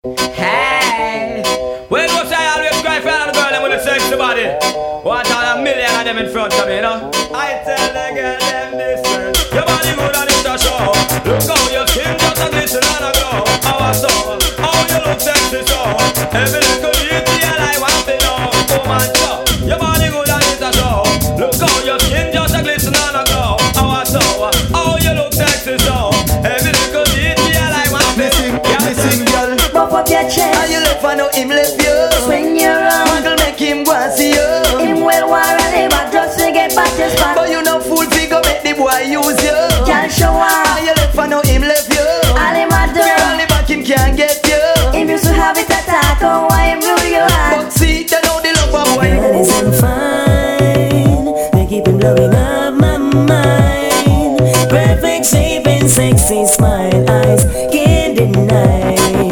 Hey, well, what I always cry for all the girl them with a sexy body. Watch all a million of them in front of me, you know. I tell the girl them this way. Your body good and it's a show. Look how your skin just a glisten and a glow. Our soul, how you look sexy so. Every little detail I want to know. Oh man, so your body good and it's a show. Look how your skin just a glisten and a glow. Our soul, how you look sexy so. Every little detail I want to know. Listen, girl, Pop up your chest. how you look for no him left you. Swing your arm. Uncle make him go and see you. Him well war and him a just to get back his back. But you no fool figure make the boy use you. Can't show How up. you look for no him left you. All him a do. Girl, the back him can't get you. Him used to have it attack. Oh, why him blew your heart? But see, they know the love of boy. Girl is I'm fine. They keep him blowing up my mind. Perfect shape and sexy smile, eyes can't deny.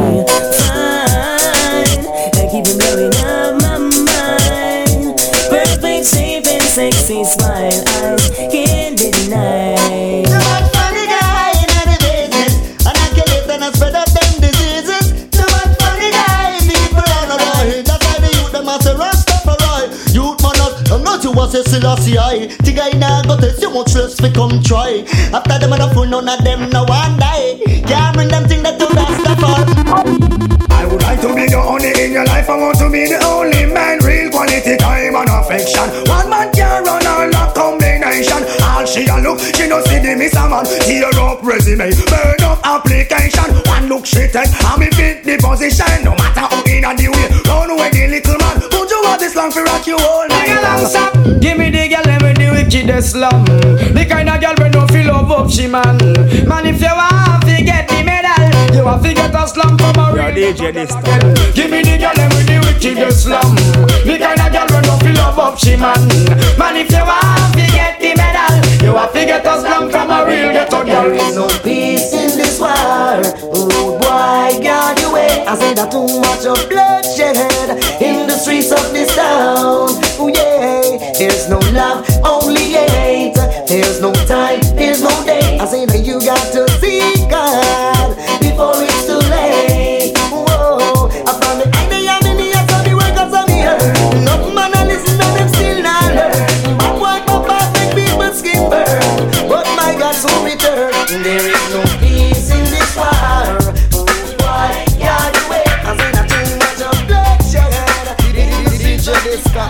Fine. They keep him blowing up my mind. Perfect shape and sexy smile, eyes can't deny. Too much funny guy in the business, and I kill it and I spread up them diseases. Too much funny guy, people on the boy. That's why the youth them a say Rastafari. Youth man I'm not you was a Selassie I. The guy now got test you much less fi come try. After them a fool none of them no one die. Can't bring them thing that to Rastafari. I would like to be the only in your life. I want to be the only man. Real quality time and affection. One man can run all that combination. All she a look, she no see the miss a man. Tear up resume, burn up application. One look she take, and me fit the position. No matter how in and the way, run away the little man. Put you out this long for rock you all night. Give me the girl with the wickedest slum. The kind of girl we no feel love up she man. Man if you want to get the medal, you want to get a slum from a real DJ this time. Give me the girl with the wickedest slum. The kind of girl we no feel love up she man. Man if you want to get the medal, you want to get a slum from a real ghetto girl. There is no peace in this war. Oh boy, guard your way. I say that too much of bloodshed in the streets of this town. Oh yeah, there's no love, only hate. There's no time, there's no day. I say that you got to seek God before it's too late. Whoa, I found the idea in the eyes of the workers of the earth. Enough man a listen and them still not learn. Bad boy papa make people skin burn, but my God soon return. There is no peace in this war. Why guard your way? I say that too much of bloodshed. DJ Disco.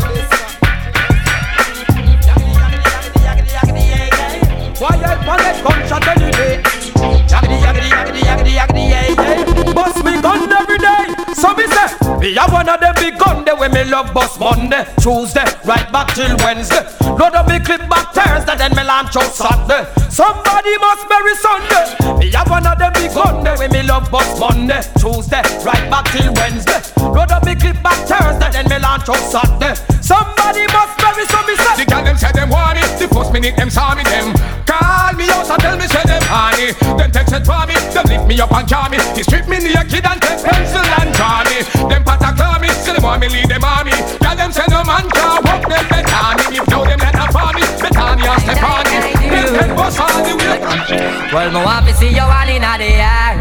Why I panic gunshot any day? Yaggedy, yaggedy, yaggedy, yaggedy, yaggedy, yeah. Bust me gun every day. So me say, me have one of them big gun there when me love bust Monday, Tuesday, right back till Wednesday. Load up me clip back Thursday, then me launch out Saturday. Somebody must bury Sunday. Me have one of them big gun there when me love bust Monday, Tuesday, right back till Wednesday. Load up me clip back Thursday, then me launch out Saturday. Somebody must bury, so me say. The girl them say them want me. The first minute them saw me them call me out and tell me say them honey. Them text it for me. Them lift me up and call me. They strip me naked and take pencil and draw me. Them patta call me. Say them want me lead them army. Girl them say no man can walk them better me. If now them let them for me. Better me and Stephanie. Them bust all the way. Well, me want to see you all in the air.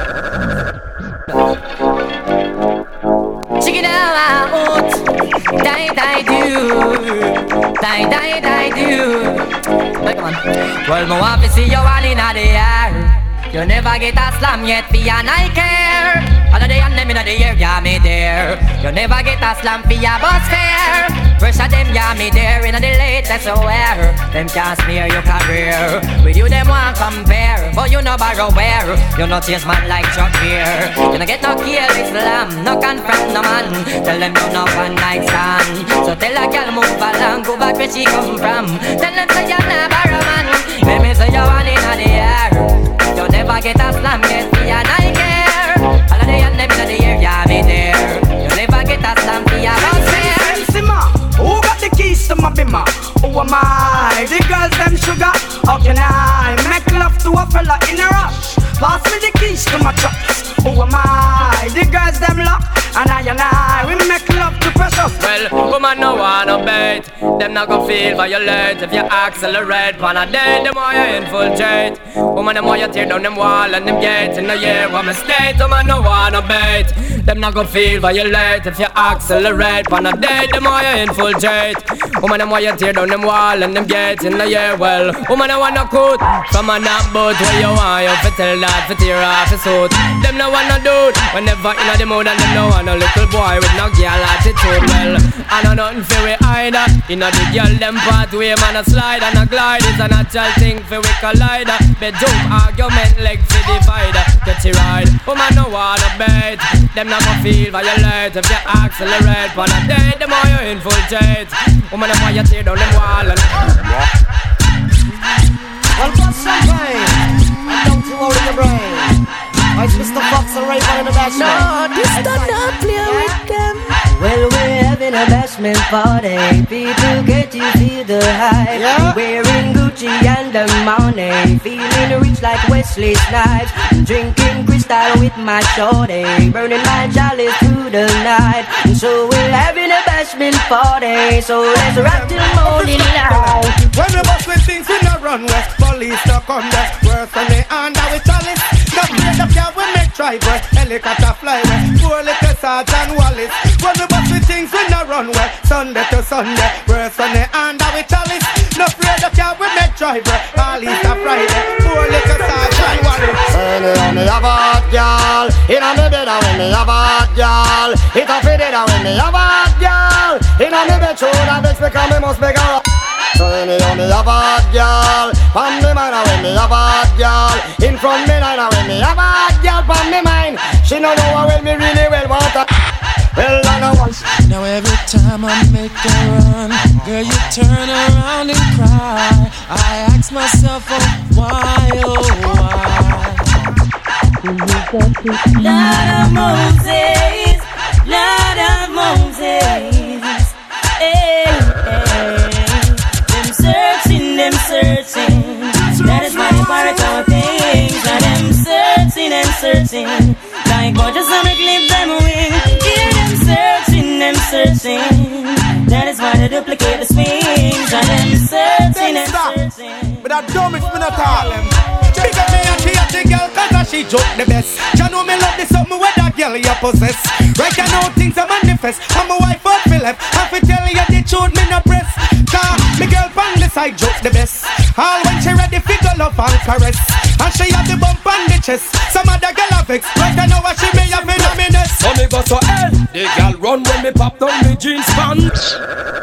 Check it out. Die, die, do. Die, die, die, do. Hey, come on. Well, me want to see you all in the air. You never get a slam yet, for and I care. All of the and them in the air, yeah, me there. You never get a slam for your bus fare. Pressure them, yeah, me there. In the latest aware, them can't smear your career. With you, them won't compare. But you no borrow where. You no chase man like Chuck here. You no get no kill Islam, no confront no man. Tell them you no one night stand. So tell a girl move along, go back where she come from. Tell them say you're not borrow man. Let me say you want in the air. You never get a slam, get me and I care. All of the and them in the air, yeah, me there. You never get a slam, for your bus fare. Who got the keys to my bimmer? Who am I? The girls them sugar. How can I make love to a fella in a rush? Pass me the keys to my trucks. Who am I? The girls them lock. And I, we make love to precious. Well, woman no wanna bait. Them not gon' feel violate if you accelerate. Pan a day, the more you infiltrate. Woman, the more you tear down them wall and them gates. In the year, what my state, woman no wanna bait. Them not gon' feel violate if you accelerate. Pan a day, the more you infiltrate. Woman, the more you tear down them wall and them gates. In the year, well, woman, I wanna coat from a nap boat. Where you want, you fit tell that, fit tear off his suit. Them no wanna do it whenever in the mood, and them no want a little boy with no girl attitude. Well, I know nothing for we either. In the girl, them pathway, man, a slide and a glide. It's a natural thing for we collide. Bedroom argument, leg for divider. Get it right, woman no wanna bait. Them not gonna feel violate if you accelerate. On a day, the more you infiltrate. Woman, the more you tear down them wall and well, pop champagne and don't you worry your brain. It's Mr. Fox and Ray in the bashment. No, this does not play with them. Well, we're having a bashment party. People get to feel the hype. Yeah. Wearing Gucci and the money. Feeling rich like Wesley Snipes. Drinking crystal with my shorty. Burning my chalice through the night. So we're having a bashment party. So let's rock till morning light. When we bust with things we no run west. Police no come west. Worse than the under with chalice. The plate of car we make drive west. Helicopter fly west. Poor little Sergeant Wallace. When we bust with things we no run west. Sunday to Sunday. Worse than the under with chalice. No plate of car we make drive west. All Easter Friday. Poor little Sergeant Wallace. When me have a hot girl, in on me bed when me have a hot girl. It a fit it when me have a hot girl. In on me bed show that bitch because me must make her. So when me have a hot girl, from me mind when me have a hot girl. In front me line when me have a hot girl, from me mind. She no know how well me really well want her. Well I know once. Now every time I make a run, girl you turn around and cry. I ask myself, oh why, oh why? Lord of Moses, Lord of Moses, hey, hey. Them searching, that is why they pirate our things. Now them searching, like God just wanna clip them wing. Yeah, them searching, that is why they duplicate the swings. Now them searching. But that dumb is me not call them. Pick up me and she a the girl cause she joke the best. You know me love this something with that girl you possess. Right now things are manifest. I'm a wife of Philip. I fi tell you the truth me no press. Cause me girl from the side joke the best. All when she ready fi go love and caress. And she have the bump on the chest. Some other girl have vex. Right now what she may have in a minute. So me go so hell. The girl run when me pop down me jeans pants.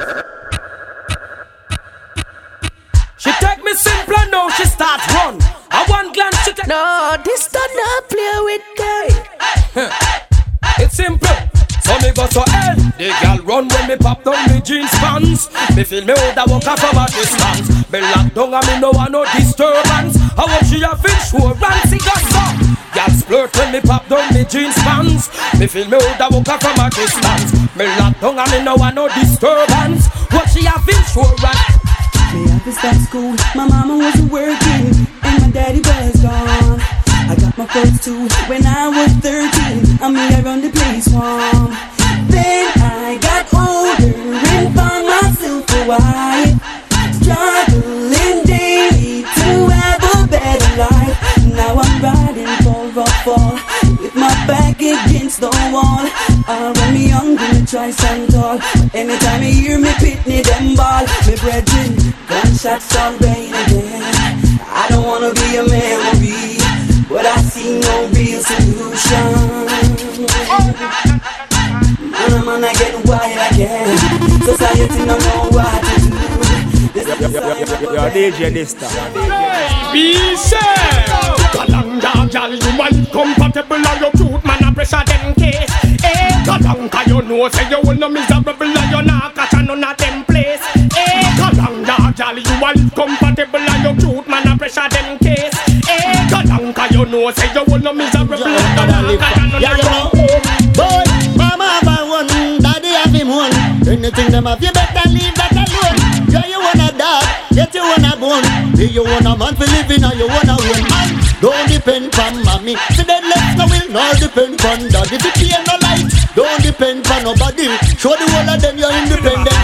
She take me simple now she start run. I one glance she take. No, this does not play with them. It's simple. So me go so hell. The girl run when me pop down me jeans pants. Me feel me hold a walk from a distance. Me lock down and me no want no disturbance. I want she a insurance. It got so. Girl splurt when me pop down me jeans pants. Me feel me hold a walk from a distance. Me lock down and me no want no disturbance. What she a insurance. Me have to start school. My mama wasn't working and my daddy was gone. I got my first two when I was 13. I mean I run the place warm. Then I got older and found myself a wife, struggling daily to have a better life. Now I'm riding for a fall with my back against the wall. When me young, me try stand tall. Anytime you hear me pitney them ball, me brethren, gunshots all rain again. I don't wanna be a memory, but I see no real solution. Man, I get wild again. Society don't know what to do. You're DJ this time. Be safe. Kalanga, girl, you man compatible and you cute, man, I pressure them case. Eh, Kalanga, you know, say you will no miserable and you not catch none of them place. Eh, Kalanga, girl, you man compatible and you cute, man, I pressure them case. Eh, Kalanga, you know, say you will no miserable and you not catch none of them place. Boy, mama have one, daddy have him one. Anything them have, you better leave that alone. Yeah, you want a dog, yet you want a bone. Do you want a man for living or you want a woman? Don't depend on mommy. See that left no will nor depend on daddy. If you pay no light, don't depend on nobody. Show the whole of them you're independent.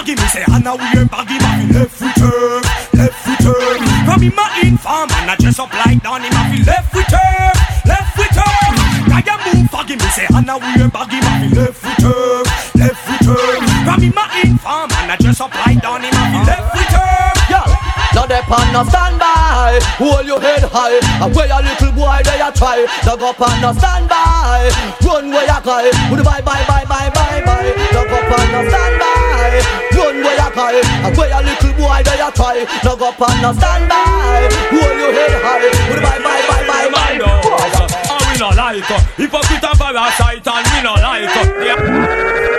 baggy, me say Anna wear baggy, ma fi left return. From him a inform and I dress up like Donnie, ma fi left return. Kaya move baggy, me say Anna wear baggy, ma fi left return. From him a inform and I dress up like Donnie, ma fi left return. Yeah. Now they pan no stand by, hold your head high. And where a little boy they a try, dug up and no stand by, run where you cry. Would bye. Dug up and no stand by, run where you cry. And where a little boy they a try, dug up and no stand by, hold your head high. Would bye. And we no like hypocrite and parasite, and we no like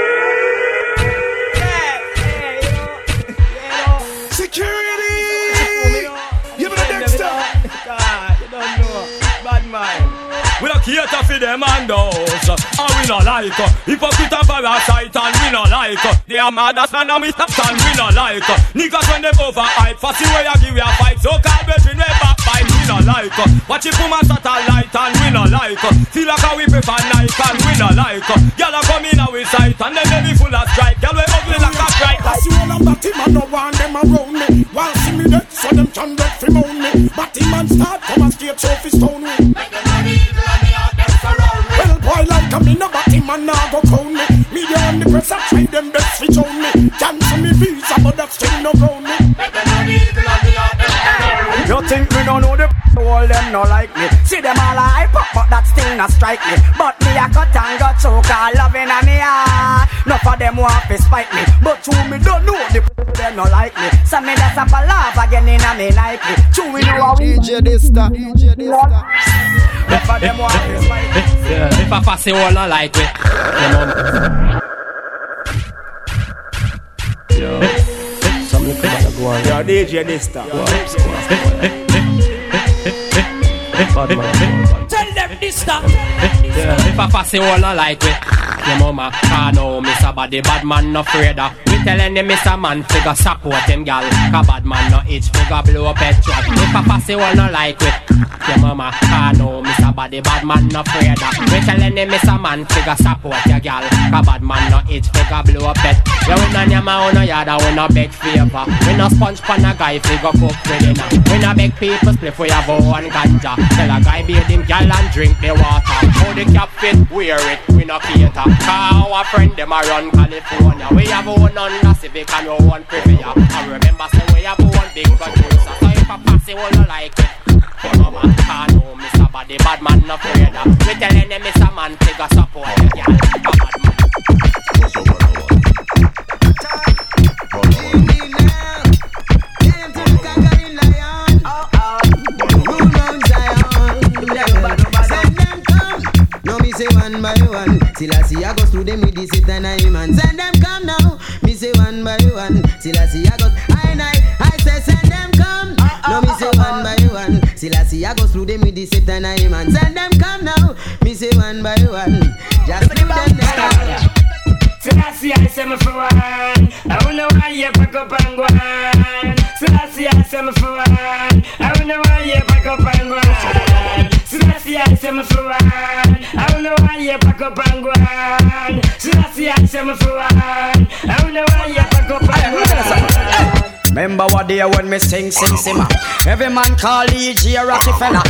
Security! Give me the Dexter! You don't know, bad mind. We don't cater for them and those, and we no like hypocrite and parasite, and we no like they are mad as man and we stop and we no like niggas when they overhype. Fussy way I give you a fight, so call between way backbite. We no like watch it from a satellite, and we no like feel like how we prefer Nike, and we no like y'all are coming out with sight, and then they be full of strike. Y'all we ugly like a strike. I see all of Batty man no want them around me. While see me dead, so them can get free moan me. Batty man start come and stage off his stone me. Make them money evil and me out them surround me. Well boy like me no Batty man now go crown me. Media and the press I try them best switch on me. Cancel me visa but that still no ground me. Make them money evil and me out them surround me. You think me don't know the all them no like me. See them all hype up but that still not strike me. But me a cut and got choke all loving and me heart. None of them want to spite me, but to me don't know the them no like me. So me that's up a laugh again in a me like me. To me know how DJ Dista. None of them want to spite me. If I pass it all no like me. Something come on go on. Yo DJ Dista. Tell them this stuff. If I pass it all no like me. Your mama can't know Miss a body bad man no afraid of. We telling him Miss a man figure support him gal. Cause bad man no itch figure blow up head truck. If I pass it all no like it. Your mama can't know Miss a body bad man no afraid of. We telling him Miss a man figure support your gal. Cause bad man no itch figure blow up head. Yeah we no nyama we no yada we no beg favor. We no sponge pan a guy figure cook for dinner. We no beg people split for your bow and ganja. Tell a guy bathe him gal and drink the water. How the cap fit wear it we no cater. Cause our friend them a run California. We have one Honda Civic and we one Privia. And remember say we have one big producer. So if I pass it all no like it. Your mama can't know Mr. Body bad man no afraid of. We telling them Mr. Man figure support the girl. Bad man. Say one by one, till I see I go through them with this it and I man. Send them come now, me say one by one, till I see I go. I say send them come. No me say one by one, till I see I go through them with this it and I man. Send them come now, me say one by one. Just put them down. So I see I say me for one. I don't know why you pack up and go on. So I see I say me for one. I don't know why you pack up and go on. So I see I say me for one. I don't know why you pack up and go on. So I see I say me for one. I don't know why you pack up and go on. Remember what day when me sing simmer. Every man call E.G. a Rockefeller.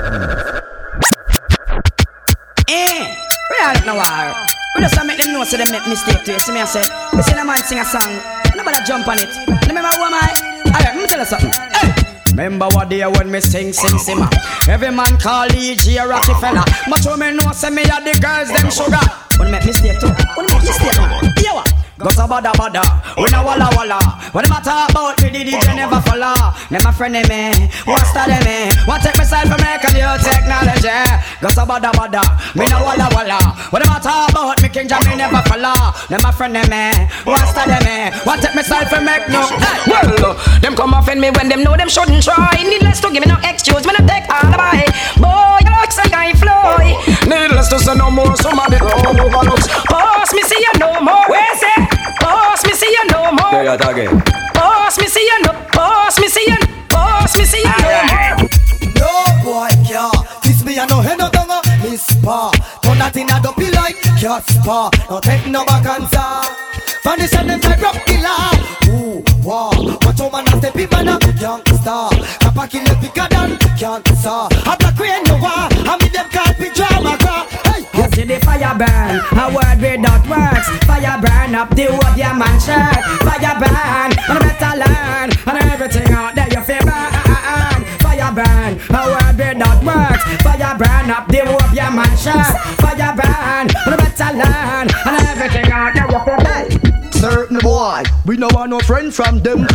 We don't know why. We just make them know so they make mistake to you. See me I say, you see a man sing a song, nobody jump on it. Remember who am I? Alright, let me tell you something. Hey! Remember what day when me sing simmer. Every man call E.G. a Rockefeller. But when me know say me a the girls them sugar. When make mistake too. When make mistake man. Yo what? Go so bada, we no walla. When them a talk about me, the DJ never follow. Them a friend of me, what's that of me? Want take myself from make a new technology. Go so bada, me no walla. When them a talk about me, King Jam, me never follow. Them a friend of me, what's that of me? Want take myself from make no. Well, them come offend me when them know them shouldn't try. Needless to give me no excuse, me no take all the buy. Boy, you look like I fly. Needless to say no more, somebody go overlooks. Boss, me see you no more. Where's it? Boss, me see you no more. There you again. Boss, me see you no. Boss, me see you. Boss, me see you no more. No boy, yeah. Kiss me and no head no donger. Miss Pa, turn that in a dopey like Casper. No take no back answer. From the side them say rock killer. Ooh, wow. Watch how man a step in man a youngster. Kappa kill the bigger than cancer. A black rain no war. I mean them can't be drama car. Hey. You see the fire burn, a word without words. Fire burn up the wood, your man shirt. Fire burn, and I better learn. And everything out there you feel burn. Fire burn, a word without words. Fire burn up the wood, your man shirt. Fire burn, and I better learn. And everything out there you feel burn. Certain boy, we no want no friend from them.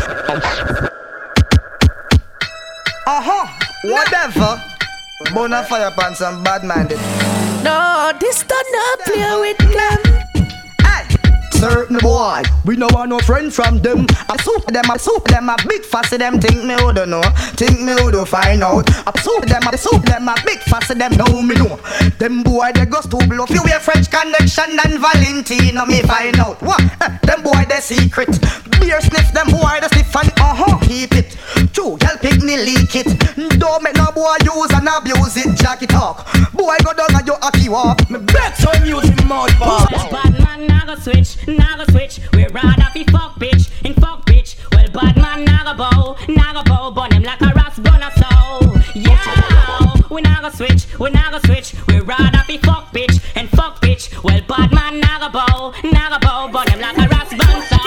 Whatever. Bonafire pan some bad minded. No, this don't not play with them. Certain boy, we no want no friend from them. I soup them, a big fussy them. Think me who don't know, think me who don't find out. I soup them, a big fussy them. Know me know. Them boy they go to bluff. You wear French Connection and Valentino me find out. What? Them boy they secret. Beer sniff them boy they sniff and keep it. True, girl pick me leak it. Don't make no boy use and abuse it. Jack it talk. Boy go down and you aki walk. Me bet some music mouth bar. Bad man naga switch. We rather be fuck bitch, in fuck bitch. Well, bad man naga bow, burn him like a ras gunner so. Yeah, we naga switch. We rather be fuck bitch, and fuck bitch. Well, bad man naga bow, burn him like a ras gun so.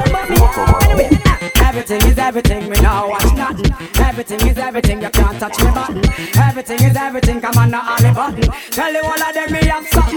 Everything is everything, me now watch nothing. Everything is everything, you can't touch me button. Everything is everything, come on now all the button. Tell you all of them me have something.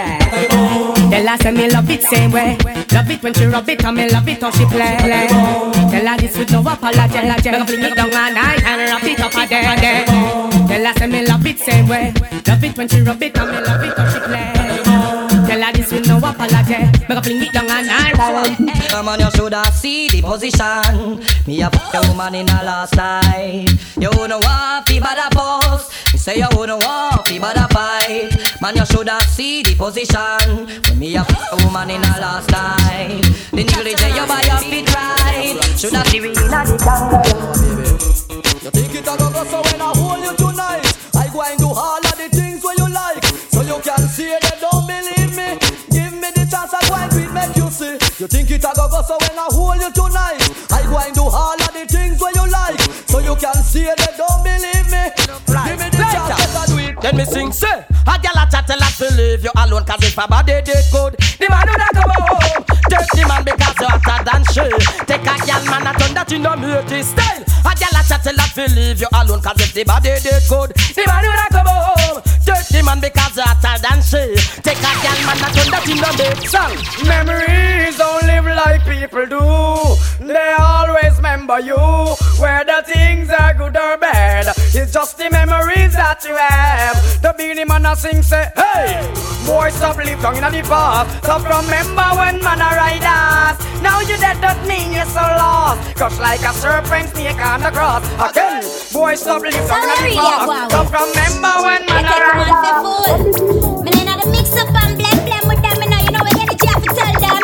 Tell her say me love it same way. Love it when she rub it and me love it how she play. Tell her this with no apology. Never fling it down all night and wrap it up a day. Tell her say me love it same way. Love it when she rub it and me love it how she play. Tell her this with no apology. Never fling it down all night. Come on, you shoulda see the position. Me a fuck a woman in a last night. You wouldn't want fi bad a post. Me say you wouldn't want fi bad a fight. Man, you shoulda see the position. When me a fuck a woman in a last night. The nigga say you buy your feet right. Shoulda see we in a the jungle. You think it a go so when I hold you tonight, I go and do all of the things where you like. So you can see they don't believe me. Give me the chance I go and quit make you see. You think it a go so when I hold you tonight, I go and do all of the things where you like. So you can see they don't believe me. Give me the chance I do it. Then me sing say, a gal a chat a lot to leave you alone. Cause if a body did good, the man would have come home. Take the man because you hotter than she. Take a gal man a turn that you know beauty style. A gal a chat a lot to leave you alone. Cause if the body did good, the man would have come home. Take the man because you hotter than she. Take a gal man a turn that you know make song. Memories don't live like people do. They always remember you. Whether things are good or bad, it's just the memories that you have. The beanie man a sing say, hey, boy stop live down in the past. Stop remember when man a ride us. Now you dead don't mean you're so lost. Crush like a serpent snake on the cross. Again, boy stop live down in the past. Stop remember when man a ride us. Me inna the mix up and blend with them. Me know you know what energy I have to tell them.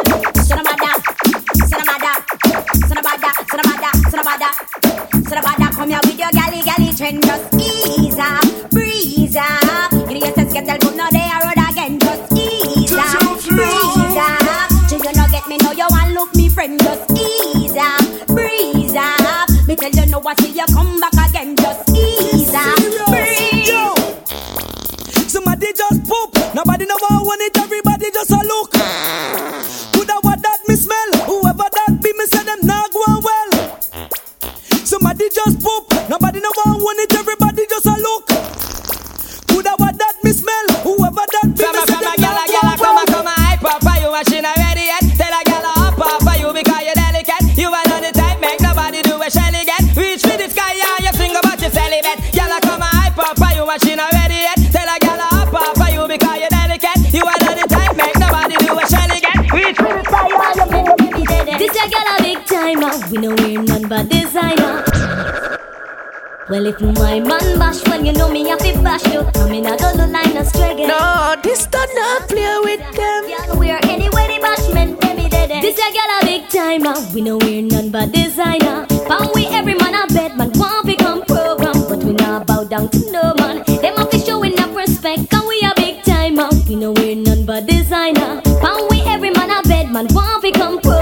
Sonabada, come here with your galley trend. Just ease up, breeze up. You know your get tell no they are road again. Just ease up, breeze up. Till you no get me, know you want look me friend. Just ease up, breeze up. Me tell you no what till you come back again. Just ease up, breeze up. Somebody just poop. Nobody know want it. Everybody just a look. Coulda what that me smell. Whoever that be, me say them not going well. Somebody just poop. Nobody know want it. Everybody just a look. Coulda what that me smell. Whoever that be, me say them not going well. Come on, hype up, you machine already yet. Tell a gal up for you because you're delicate. You are on the type, make nobody do a shelly get. Reach for the sky and you sing about your celibate. Gal come on, hype up, you machine already yet. Tell a gal up for you because you're delicate. You are on the type, make nobody do a shelly get. Reach for the sky and you sing about your celibate. This a gal a big timer. We know we're none but designer. Well, if my man bash, well, you know me have to bash you. I'm in a gonna line of struggle. No, this don't not play with them. Yeah, we are anyway the bashment, baby, dead. This a gal a big timer. We know we're none but designer. Found we every man a bed, man want become program. But we not bow down to no man. Them have to show enough respect, and we a big timer. We know we're none but designer. Found we every man a bed, man want become program.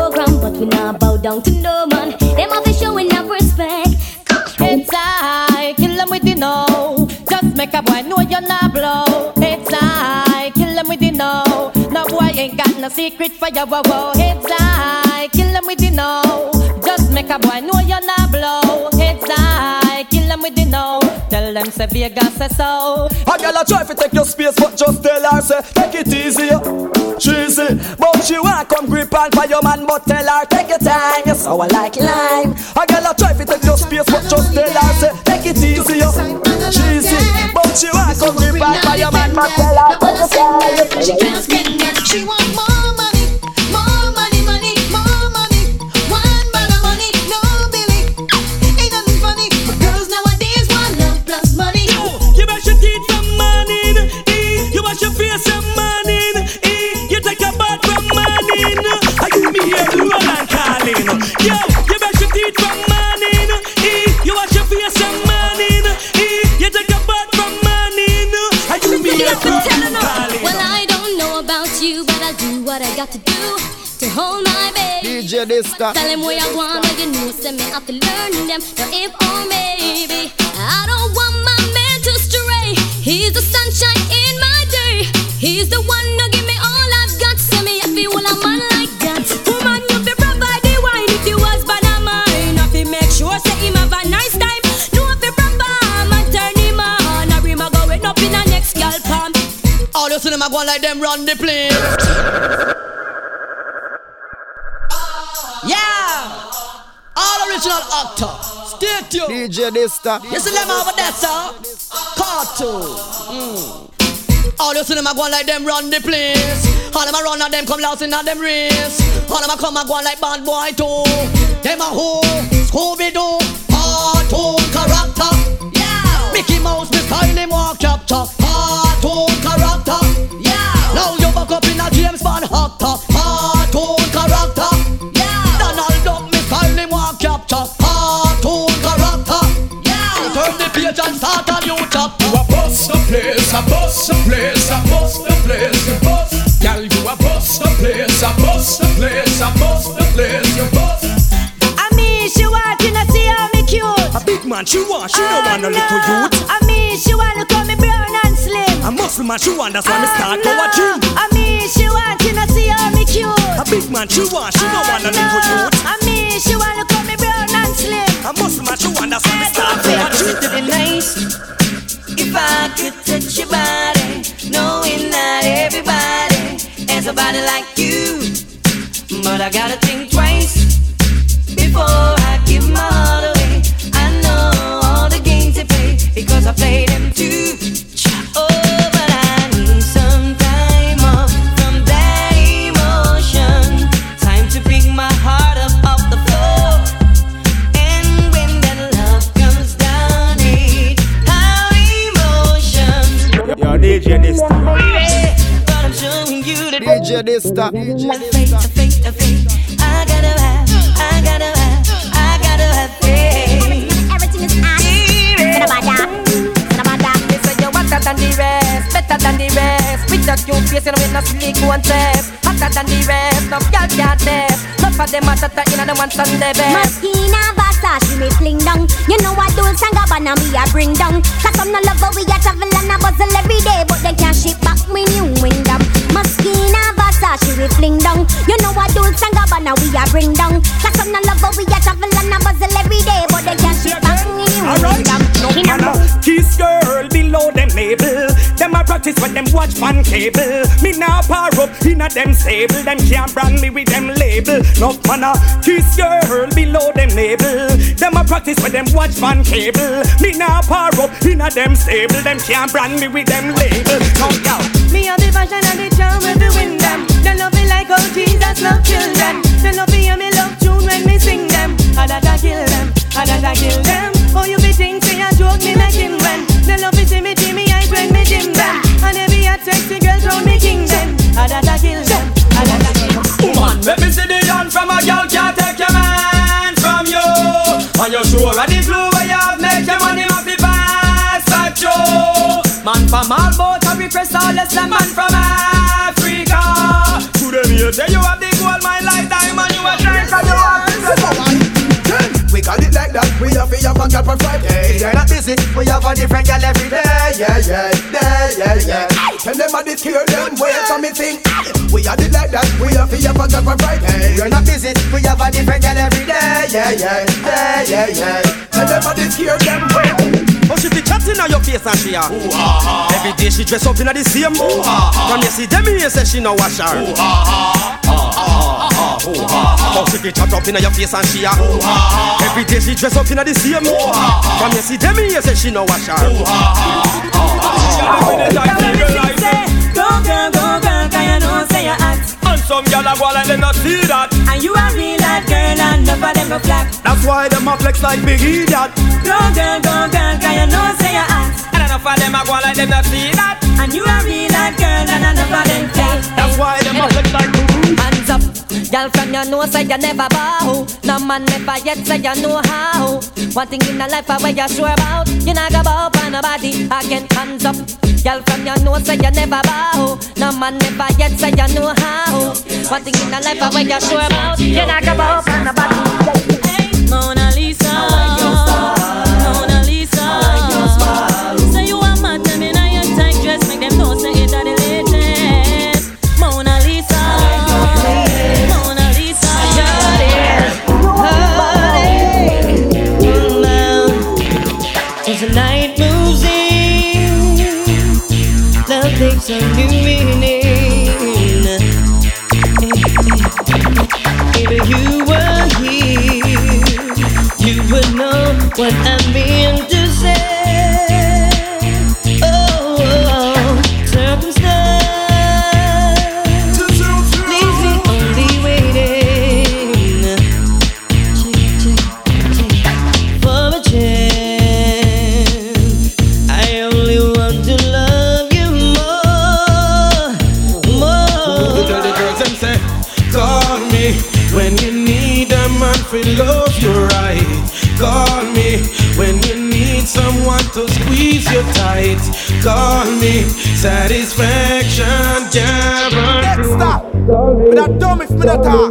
down to no man. Them have to showing enough respect. It's I, kill them with the no. Just make a boy know you're not blow. It's I, kill them with the no. No boy ain't got no secret for your wow. It's I, kill them with the no. Just make a boy know you're not blow. It's I, kill them with the no. Tell them say Vegas say so. A girl a try to take your space, but just tell her say take it easy, cheesy. But she want come grip on for your man, but tell her take your time. You sour like lime. A girl a try to take your space, but just tell her say take it easy, cheesy. But she want come grip on for your man, but tell her take your time. She can't spend it. She want more money, more money, money, more money. One bag of money, no Billy. Ain't nothing funny. But girls nowadays want love plus money. You wash your teeth from morning, you wash your face from morning, you take a bath from morning. I give me here to run and calling. Yo, you wash your teeth from morning, you wash your face from morning, you take a bath from morning. I give me here to run and calling. Well, I don't know about you, but I'll do what I got to do to hold my baby. DJ Dysta. Tell him where I want, but you know, send me out to learn them. Now if or maybe I don't want my man to stray. He's the sunshine in my day. He's the one who give me all I've got. Send me if you want a man like that. Woman, you be provide the wine if you was bad of mine. If you make sure say him have a nice time. No if you proper man turn him on. Or him a going up in a next girl palm. All you see them a go like them run the place. Yeah, all original actor. Stay tuned. DJ Dysta. You see them over there, sir? Cartoon. All you see them a go like them run the place. All them a run and them come lost in a them race. All them a come and go like bad boy too. Them a who? Scooby-Doo. Cartoon character. Yeah. Mickey Mouse, me style him walk capture. Cartoon character. Yeah. Now you back up in a James Bond actor. Cartoon character. Yeah. Donald Duck, me style him walk capture. Cartoon character. Yeah. Turn the page and start a new chapter. You a bust the place, a bust the place, a bust the place, you bust. Girl, you a bust the place, a bust the place, a bust the place, you bust. I mean, she want to see how me cute. A big man she want, she don't want no little youth. I mean, she want to call me brown and slim. A muscle man she want, that's why me start go a gym. I mean, she want to see how me cute. A big man she want, she don't want no little youth. I mean, she want to call me brown and slim. A muscle man she want, that's why me start go a gym. It would be nice if I could touch your body, knowing that everybody has a body like you. But I gotta think twice before I give my heart away. I know all the games they play because I play them too. Oh, but I need some time off from that emotion. Time to bring my heart up off the floor. And when that love comes down, how emotion. Yo, DJ Dysta. But I'm showing you the DJ Dysta. I gotta have faith. Everything is They say you're hotter than the rest, better than the rest. With that cute face and with no silicone test. Hotter than the rest, no girl can't test. Not for them hotter than the ones on the best. Moschino, Versace, me fling down. You know I do and Gabbana me a bring down. Cause I'm no lover, we a travel and a bustle every day. But they can't ship back me new windom. Moschino, Versace, we fling down. You know I do and Gabbana we a bring down. Cause I'm no lover, we a travel and a bustle every day. But they can't ship back me new windom. Kiss girl below them label. Them a practice when them watch fan cable. Me now power up in a them stable. Them can't brand me with them label. No man a kiss girl below them label. Them a practice when them watch fan cable. Me now power up in a them stable. Them can't brand me with them label. No yo. Me have the passion and the charm when we win them. They love me like how Jesus love children. They love me and me love tune when me sing them. I that I kill them, I that I kill them. Oh you be think say I joke me like him when. They love me see me eyes when me dim them. And every hot sexy girls round me king them. I that I kill them, I that I kill them. Woman, let me see the yarn from a girl can't take your man from you. And you sure of the blue where you have make your money off the pass at you. Man from all boats I repress all less than man from Africa. To them you say you have the gold mine like diamond. You a drink and you have have a girl for Friday. You're not busy, we have a different girl every day. Yeah. Tell them I did hear them, wait for me think. We are the like that, we have a girl for Friday. You're not busy, we have a different girl every day. Yeah. Tell them I did hear them, wait. Oh, she be chatting on your face and she every day she dress up in the same. From you see them here say she no wash her. Oh, she be chat up in your face and she every day she dress up in the same. From you see them here say she no wash her. Go girl, can you know say you're hot. And some gyal a go like them not see that. And you a real hot girl and none of them go flat. That's why them a flex like big idiot. Go girl, can you know say you're hot. And enough of them a go like them not see that. And you a real hot girl and none of them flat. That's why them a flex like hands up, girl from you know say you never bow. No man never yet say you know how. One thing in the life where you sure about, you not go bow for nobody again. Hands up, girl from you know say you never bow. No man never yet say you know how. One thing in the life where you sure about, you not go bow for nobody. Hey, Mona Lisa, Mona Lisa. Say you a mad them in a your tight dress, make them know say it a the latest. Mona Lisa, Mona Lisa. As the night moves in, love takes a new meaning. If you were here, you would know what I mean to say. Oh, circumstance leaves me only waiting for a chance. I only want to love you more. Tell the girls them say, call me when you need a man for love you right. Call me when you need someone to squeeze you tight. Call me, satisfaction guaranteed. Stop. Me not dumb if me not talk.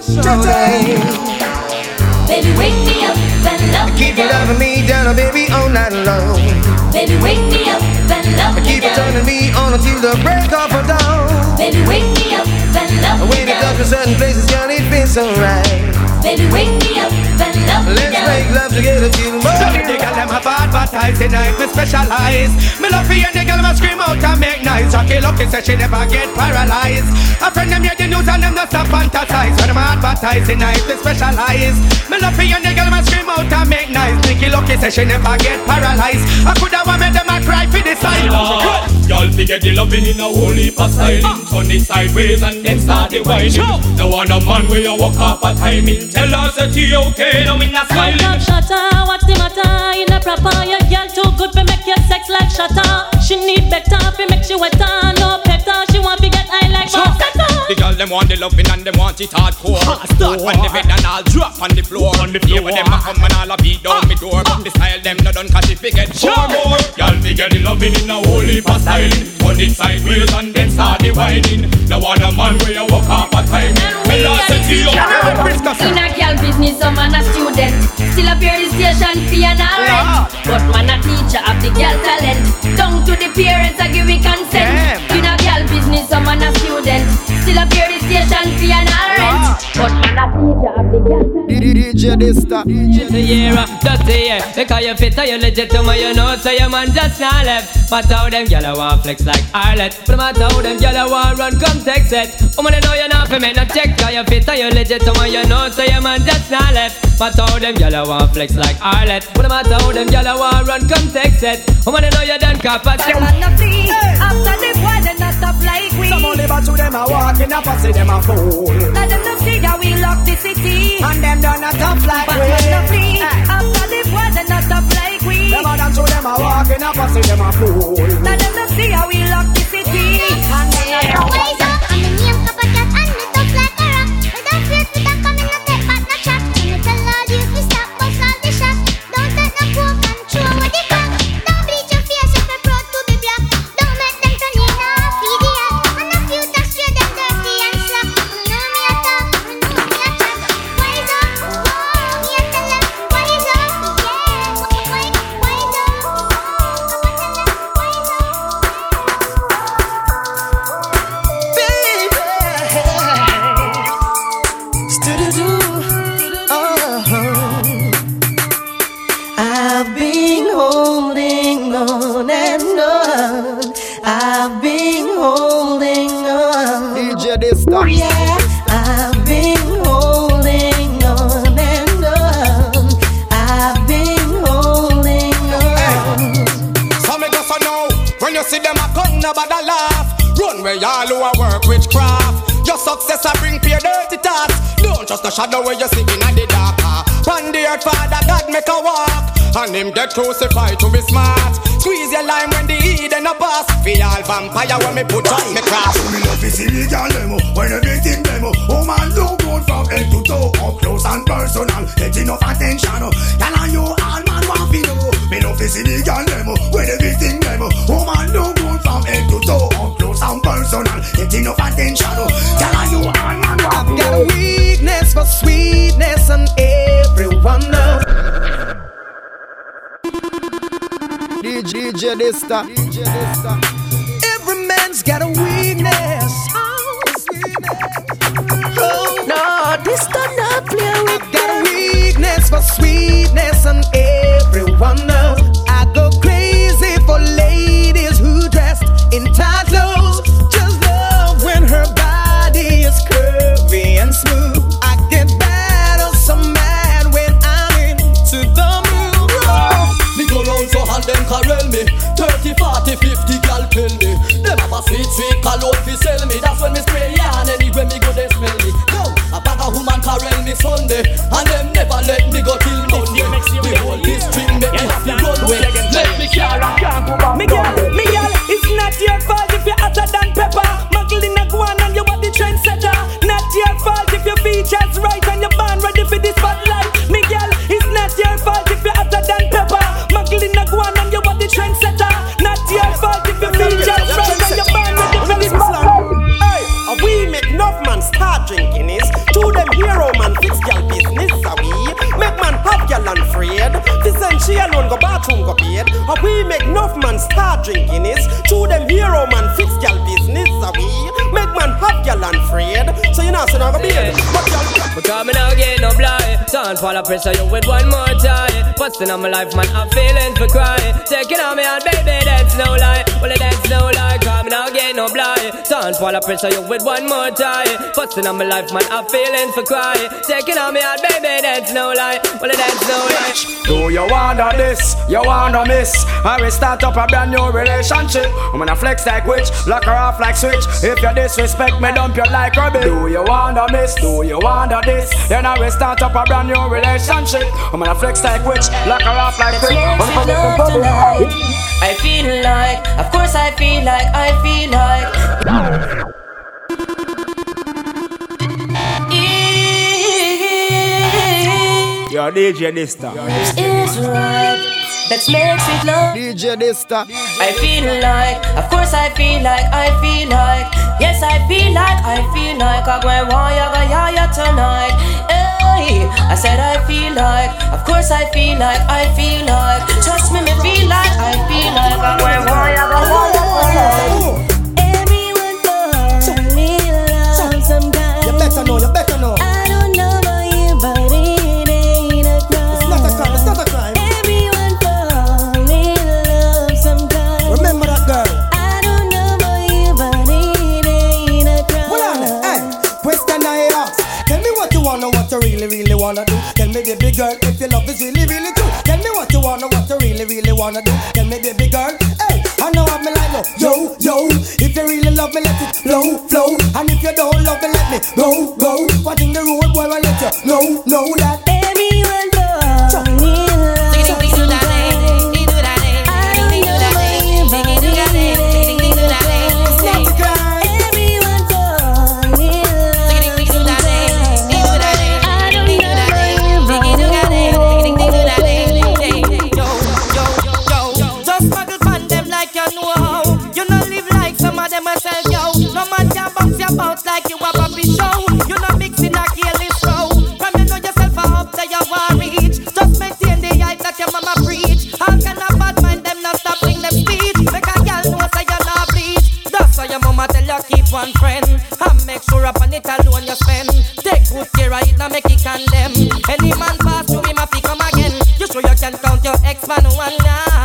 Baby, wake me up and love me. Keep loving me down, baby, all night long. Baby, wake me up and love me. Keep turning me on until the break of dawn. Baby, wake me up and love me. When it comes to certain places, girl, it feels so right. Baby, wake me up and love me. Let's make love together till the morning. The girl them have advertised tonight, me specialize. Me love for you, the girl me scream out and make noise. Rocky Lucky says she never get paralyzed. A friend them hear the news and them not stop fantasize. When them advertise tonight, me specialize. Me love for you, the girl me scream out and make noise. Nicky Lucky says she never get paralyzed. I coulda want me them a cry for the side. Y'all figure the loving in a whole heap of styling. Turn it sideways and then start the whining. No one a man where you walk up a timing. Tell us that you okay, no in a smiling. Stop, shutter, what's the matter? In a proper, your girl too good for make your sex like shutter. She need better, for make she wetter, no better. She want to get high like Basetta. The girl them want the loving and them want it hardcore. Start on the bed and I'll drop on the floor. Yeah, when them a come and I'll beat down me door. But the style them not done cause she forget more. Y'all figure the loving in a whole heap of styling. Turn it sideways and then start the whining. No one a man where you walk up a timing. Me lost it to you. In a girl business, some man a student. Still up here the station fee and all rent. But man a teacher of the girl talent. Down to the parents I give it consent. In a girl business, some man a student. Still up here the station fee and all rent. But man a teacher of the girl talent. DJ Dista. The year, just the year. Because you fit or you legit to me, you know. So your man just not left. But how them gyal want flex like Arlet. But matter how them gyal want run, come text it. Woman, you know you not for me no check. Cause you fit or you legit to me, you know. So your man just not left. But how them gyal want flex like Arlet. But matter how them gyal want run, come text it. Woman, you know you done cop a Them man a flee. After the boy, they not stop like we. Some only but to them a walking up and say them a fool. Now them no see how we lock the city. And them done a tough like but we. man no flee. After the boy, they not stop like we. Them a done to them a walking up and say them a fool. Now them no see how we lock the city. And they are Wise up, I'm the name of a cat and me tough like a rock. Without fear, without coming, no take back, no chat. And me tell all you to stop, bust all the shot. Don't take no coke and throw away the crack. Don't bleach your face if you're proud to be black. Don't make them turn in off, idiot. And if you touch straight, them dirty and slack. You know me a talk, you know me a chat. Wise up, me a tell them, wise up, yeah. I've been holding on. DJ this time. Yeah, I've been holding on and on. I've been holding on. So me just know when you see them a come, nobody laugh. Run where y'all who a work witchcraft. Your success a bring pure dirty thoughts. Don't trust the shadow where you sitting in the dark. Pan the earth, Father God make a walk, and him get crucified to be smart. Squeeze your lime when the heat and a pass. Feel all vampire when me put on me cross. Me love to see the girl demo when everything demo. Oh man, do good from head to toe, up close and personal. Get enough attention. Girl and you all man want to know. Me love to see the girl demo when everything demo. Oh man, do good from head to toe, up close and personal. Get enough attention. Girl and you all man want to know. I've got a weakness for sweetness and everyone knows. DJ Dista. Every man's got a weakness. Oh, no, this time not play with. I've got a weakness for sweetness and everyone knows. I go crazy for ladies who dressed in tight clothes. Just love when her body is curvy and smooth. I get bad or some mad when I'm into the mood. Me go round so hand them carel me 30, 40, 50 gal tell me them have a sweet, sweet cologne fi sell me. That's when me spray yarn anywhere me go they smell me. Yo, a bag of woman carel me Sunday, and them never let me go till Monday. The whole this string make me have to run away. Let me carry and can't go back. Miguel, it's not your fault if you're hotter than pepper. Magdalena Guan and you are the trendsetter. Not your fault if your features right and you're born ready for the spotlight. Miguel, it's not your fault if you're hotter than pepper. Magdalena Guan and you are the trendsetter. Not your fault if your features right and you're born ready for the spotlight. Hey, we make enough man start drinking is. To them hero man fix girl business. We make man have girl unafraid. This and she alone go bathroom go paid. We make enough man start drinking is. To them hero man fix girl business. We make man have girl unafraid. So you know so now go be it. But coming out get no blind. Don't fall pressure you with one more time. Busting on my life man I'm feeling for crying. Taking on me out baby that's no lie. Well that's no lie. Coming out get no blind. Don't fall pressure you with one more time. Busting on my life man I'm feeling for crying. Taking on me out baby that's no lie. Well that's no lie. Do you wanna this? You wanna miss? I will start up a brand new relationship. I'm gonna flex like witch, lock her off like switch. If you disrespect me, dump you like rubbish. Do you wanna miss? Do you wanna this? Then I will start up a brand new relationship. I'm gonna flex like witch, lock her off like switch. I feel like, of course I feel like, Yo, DJ Dista. It's right. Let's make it love. DJ Dista. I feel like, of course I feel like, yes I feel like, I'm going to ya tonight. Hey, I said I feel like, of course I feel like, trust me, me feel like, I'm going to ya tonight. Everyone for me love sometimes. You better know. I don't know about you, but it ain't a crime. It's not a crime. Everyone for me love sometimes. Remember that girl. I don't know about you, but it ain't a crime. Hold on, hey, question I ask. Tell me what you wanna, what you really wanna do. Tell me baby girl, if your love is really true. Tell me what you wanna, what you really wanna do. Tell me baby girl, hey, I know I'm like no. Yo, if you really love me, let it flow. And if you don't love me, let me go. What in the road, boy, I let you know that everyone for me love sometimes. I don't know about you, but it ain't a crime. It's not a crime. Everyone for me love sometimes. I don't know about you, but it ain't a crime. Just muggle pan them like you know how. You know live like some of them myself, yo. No man can bounce your bounce like you a puppy show. You know mixing a careless row. From you know yourself up to your war reach. Just maintain the hype that your mama preach. How can a bad mind them not stopping them speech? Make a girl know say you're not bleach. That's why your mama tell you keep one friend. And make sure upon it alone you spend. Take good care of it, now make it condemn. Any man pass through him, if he come again. You sure you can count your ex-man one land.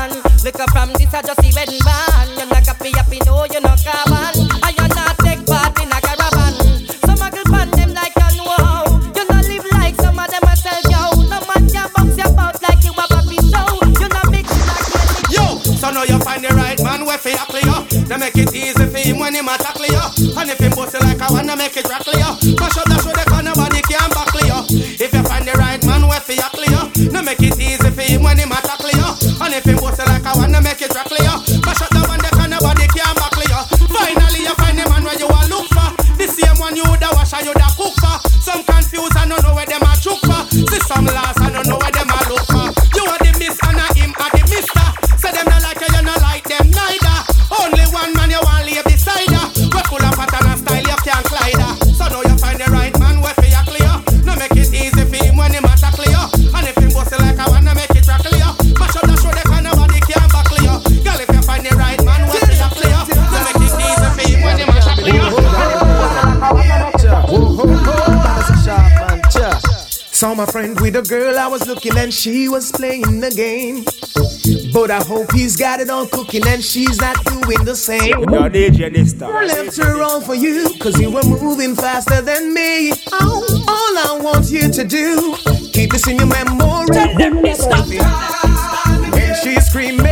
Look up from this, I just see wedding band. You're not happy, no, you're not carbon. And you're not take part in a caravan. Some a girl pan them like you know how. You not live like some of them a sell yo. No man can box you about like you a puppy show. You not mix like you. Yo, so now you find the right man where fi tackle you. They make it easy for him when him a tackle you. And if him bust you like I wanna make it rackle you. Mash up that show the corner nobody can buckle you. If you find the right man where fi tackle you. No make it easy for him when him a tackle you. And if him bust you like I wanna make it rackle you. Mash up that one the corner nobody can buckle you. Finally you find the man where you a look for. The same one you da wash and you da cook for. Some confused and don't know where them a chook for. See some last and don't know where them a look for. You are the miss and a him are the mister. Say them not like you not like them neither. Only one man you want lay beside her. We full of pattern and style you can't glide her. So now you find the right man where for you clear. No make it easy for him when him a tackle you. And if him bust you like I wanna make it rackle you. Mash up the show the kind nobody can buckle you. Girl if you find the right man where for you clear. No make it easy for him when him a tackle you. Saw my friend with a girl I was looking and she was playing the game. But I hope he's got it on cooking and she's not doing the same. Your DJ this time. I left her all for you, cause you were moving faster than me. All I want you to do, keep this in your memory. Tell them this stuff. When she's screaming,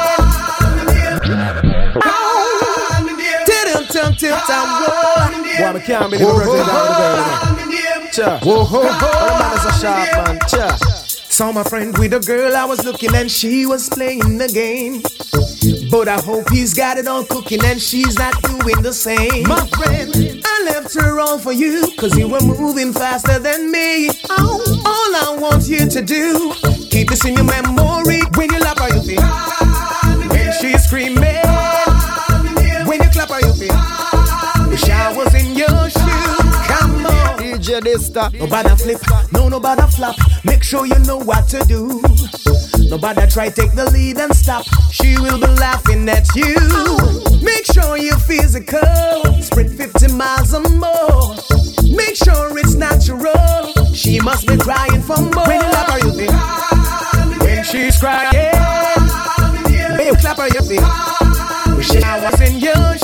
Boy, I can't believe the birthday down the girl. Cha. Whoa, man is a sharp man. Cha. Saw my friend with a girl I was looking and she was playing the game. But I hope he's got it on cooking and she's not doing the same. My friend, I left her all for you, cause you were moving faster than me. All I want you to do, keep this in your memory. When you lap her you feel, when she's screaming, when you clap her you feel, the showers in your shoes. Come on, DJ this time. Nobody flip, nobody flop. Make sure you know what to do. Nobody try take the lead and stop. She will be laughing at you. Make sure you're physical. Sprint 50 miles or more. Make sure it's natural. She must be crying for more. When you clap her, you feel. When she's crying, when you clap her, you feel. She was in your